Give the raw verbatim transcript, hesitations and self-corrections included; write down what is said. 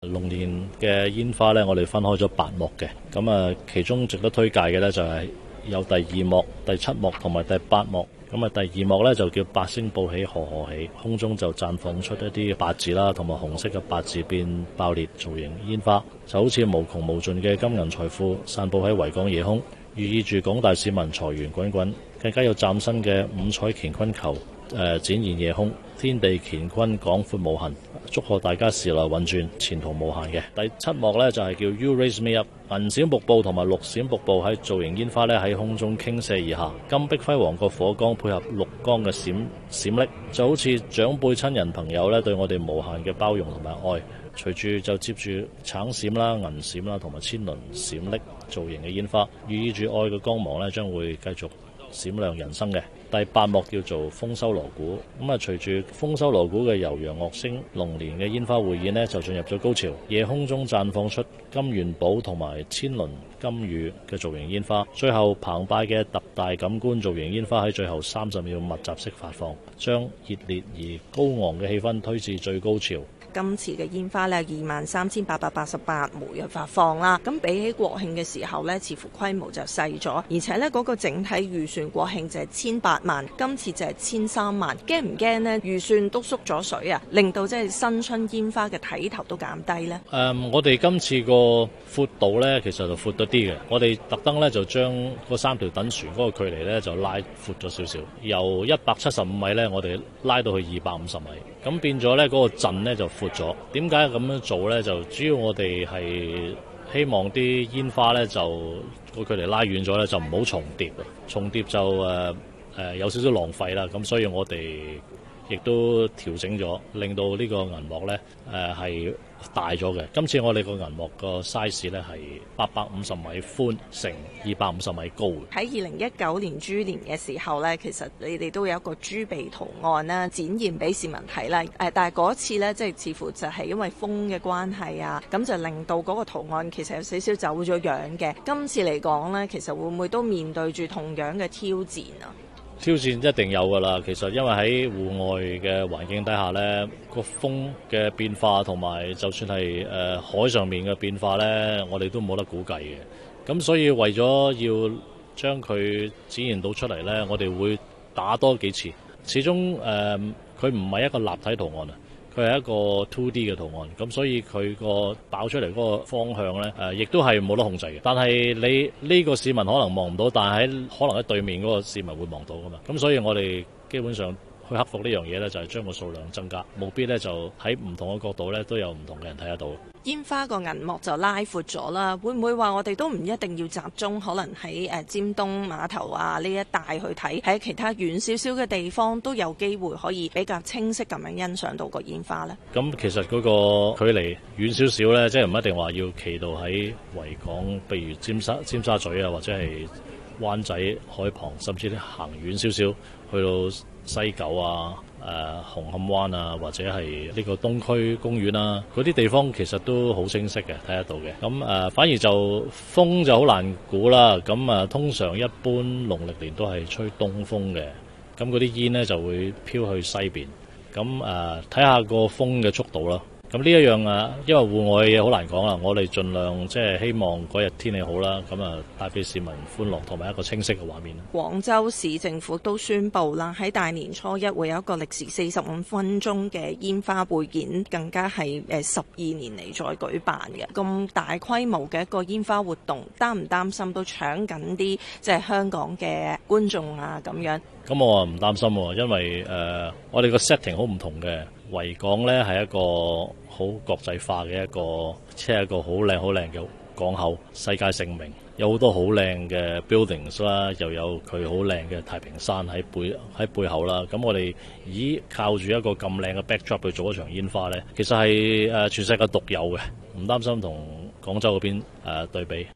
龍年嘅煙花呢，我哋分開咗八幕嘅，咁啊，其中值得推介嘅呢，就係有第二幕、第七幕同埋第八幕。咁啊，第二幕呢，就叫八星報喜賀賀喜，空中就綻放出一啲八字啦，同埋紅色嘅八字變爆裂造型煙花，就好似無窮無盡嘅金銀財富散布喺維港夜空，寓意住廣大市民財源滾滾。更加有嶄新嘅五彩乾坤球誒、呃、展現夜空，天地乾坤廣闊無痕，祝賀大家時來運轉，前途無限嘅。第七幕呢，就係、是、叫 You Raise Me Up， 銀閃瀑布同埋綠閃瀑布喺造型煙花呢喺空中傾瀉而下，金碧輝煌個火光配合綠光嘅閃閃爍，就好似長輩親人朋友呢對我哋無限嘅包容同埋愛。隨住就接住橙閃啦、銀閃啦同埋千輪閃爍造型嘅煙花，寓意住愛嘅光芒呢將會繼續閃亮人生嘅。第八幕叫做豐收鑼鼓，咁啊隨住豐收鑼鼓嘅悠揚樂聲，龍年嘅煙花匯演呢就進入咗高潮，夜空中綻放出金元寶同埋千輪金魚嘅造型煙花，最後澎湃嘅特大感官造型煙花喺最後三十秒密集式發放，將熱烈而高昂嘅氣氛推至最高潮。 今次嘅煙花呢，二萬三千八百八十八枚嘅發放啦，咁比起國慶嘅時候呢，似乎規模就細咗，而且呢嗰個整體預算國慶就係千八萬，今次就係千三萬，驚唔驚呢？預算都縮咗水啊，令到即係新春煙花嘅睇頭都減低呢？ 誒、嗯，我哋今次個闊度呢，其實就闊咗啲嘅，我哋特登呢，就將嗰三條躉船嗰個距離呢，就拉闊咗少少，由一百七十五米呢，我哋拉到去二百五十米，咁變咗呢嗰個陣呢，就闊咗。點解咁樣做呢？就主要我哋係希望啲煙花呢，就個距離拉遠咗呢，就唔好重疊，重疊就誒誒、呃、有少少浪費啦。咁所以我哋亦都調整咗，令到呢個銀幕呢誒係、呃、大咗嘅。今次我哋個銀幕個 size 呢係八百五十米寬乘二百五十米高。 喺二零一九年豬年嘅時候呢，其實你哋都有一個豬鼻圖案啦，展現俾市民睇啦。誒，但係嗰次呢，即係似乎就係因為風嘅關係啊，咁就令到嗰個圖案其實有少少走咗樣嘅。今次嚟講呢，其實會唔會都面對住同樣嘅挑戰啊？ 挑戰一定有㗎啦，其實因為喺戶外嘅環境底下呢，個風嘅變化同埋就算係誒、呃、海上面嘅變化呢，我哋都冇得估計嘅。咁所以為咗要將佢展現到出嚟呢，我哋會打多幾次。始終誒佢唔係一個立體圖案啊，佢係一個 two D 嘅圖案，咁所以佢個爆出嚟嗰個方向呢，誒亦都係冇得控制嘅。但係你呢個市民可能望唔到，但係喺可能喺對面嗰個市民會望到噶嘛。咁所以我哋基本上去克服呢樣嘢呢，就係將個數量增加，務必呢就喺唔同嘅角度呢，都有唔同嘅人睇得到。 煙花個銀幕就拉闊咗啦，會唔會話我哋都唔一定要集中，可能喺誒尖東碼頭啊呢一帶去睇，喺其他遠少少嘅地方都有機會可以比較清晰咁樣欣賞到個煙花呢？ 咁其實嗰個距離遠少少呢，即係唔一定話要企到喺維港，譬如尖沙尖沙咀啊，或者係灣仔海旁，甚至行遠少少去到西九啊、誒、呃、紅磡灣啊，或者係呢個東區公園啊，嗰啲地方其實都好清晰嘅，睇得到嘅。咁誒、呃、反而就風就好難估啦。咁啊，通常一般農曆年都係吹東風嘅，咁嗰啲煙呢就會飄去西邊。咁誒睇下個風嘅速度啦。咁呢一樣啊，因為戶外嘅嘢好難講啦，我哋盡量即係希望嗰日天氣好啦，咁啊帶俾市民歡樂同埋一個清晰嘅畫面。 廣州市政府都宣布啦，喺大年初一會有一個歷時四十五分鐘嘅煙花匯演，更加係誒十二年嚟再舉辦嘅咁大規模嘅一個煙花活動，擔唔擔心都搶緊啲即係香港嘅觀眾啊咁樣？ 咁我唔擔心喎，因為誒、呃、我哋個 setting 好唔同嘅，維港呢係一個好國際化嘅一個，即係一個好靚好靚嘅港口，世界盛名，有好多好靚嘅 buildings 啦，又有佢好靚嘅太平山喺背喺背後啦。咁我哋依靠住一個咁靚嘅 backdrop 去做一場煙花呢，其實係誒全世界獨有嘅，唔擔心同廣州嗰邊誒對比。